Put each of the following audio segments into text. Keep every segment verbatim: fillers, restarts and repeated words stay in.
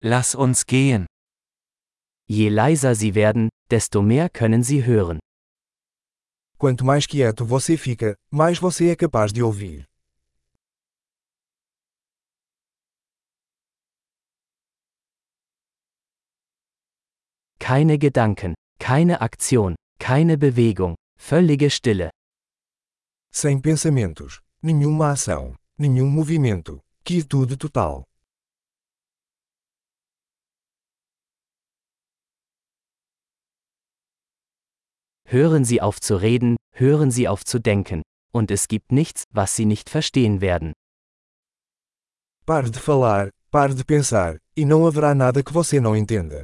Lass uns gehen. Je leiser Sie werden, desto mehr können Sie hören. Quanto mais quieto você fica, mais você é capaz de ouvir. Keine Gedanken, keine Aktion, keine Bewegung, völlige Stille. Sem pensamentos, nenhuma ação, nenhum movimento, quietude total. Hören Sie auf zu reden, hören Sie auf zu denken, und es gibt nichts, was Sie nicht verstehen werden. Pare de falar, pare de pensar, e não haverá nada que você não entenda.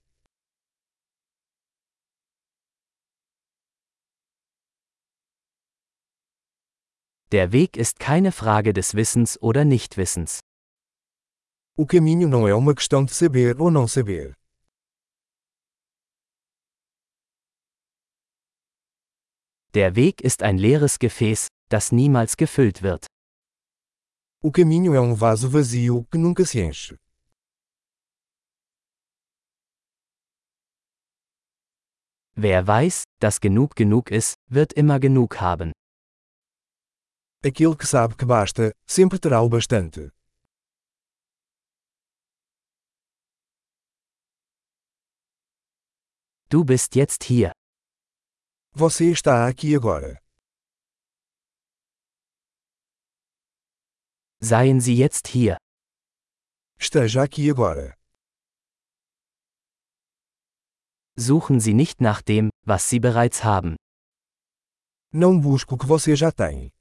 Der Weg ist keine Frage des Wissens oder Nichtwissens. O caminho não é uma questão de saber ou não saber. Der Weg ist ein leeres Gefäß, das niemals gefüllt wird. O caminho é um vaso vazio que nunca se enche. Wer weiß, dass genug genug ist, wird immer genug haben. Aquele que sabe que basta, sempre terá o bastante. Du bist jetzt hier. Você está aqui agora. Seien Sie jetzt hier. Esteja aqui agora. Suchen Sie nicht nach dem, was Sie bereits haben. Não busque o que você já tem.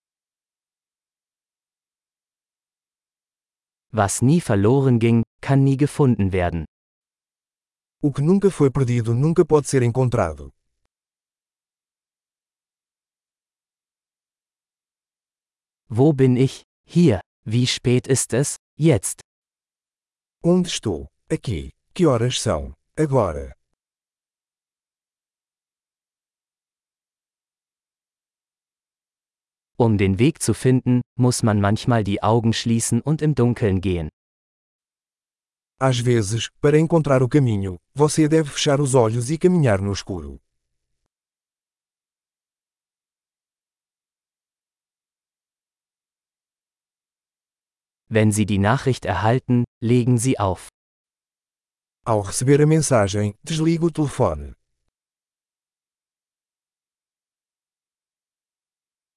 Was nie verloren ging, kann nie gefunden werden. O que nunca foi perdido nunca pode ser encontrado. Wo bin ich? Hier. Wie spät ist es? Jetzt. Onde estou? Aqui. Que horas são? Agora. Um den Weg zu finden, muss man manchmal die Augen schließen und im Dunkeln gehen. Às vezes, para encontrar o caminho, você deve fechar os olhos e caminhar no escuro. Wenn Sie die Nachricht erhalten, legen Sie auf. Ao receber a mensagem, desligue o telefone.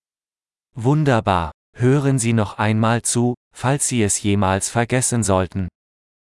Wunderbar. Hören Sie noch einmal zu, falls Sie es jemals vergessen sollten.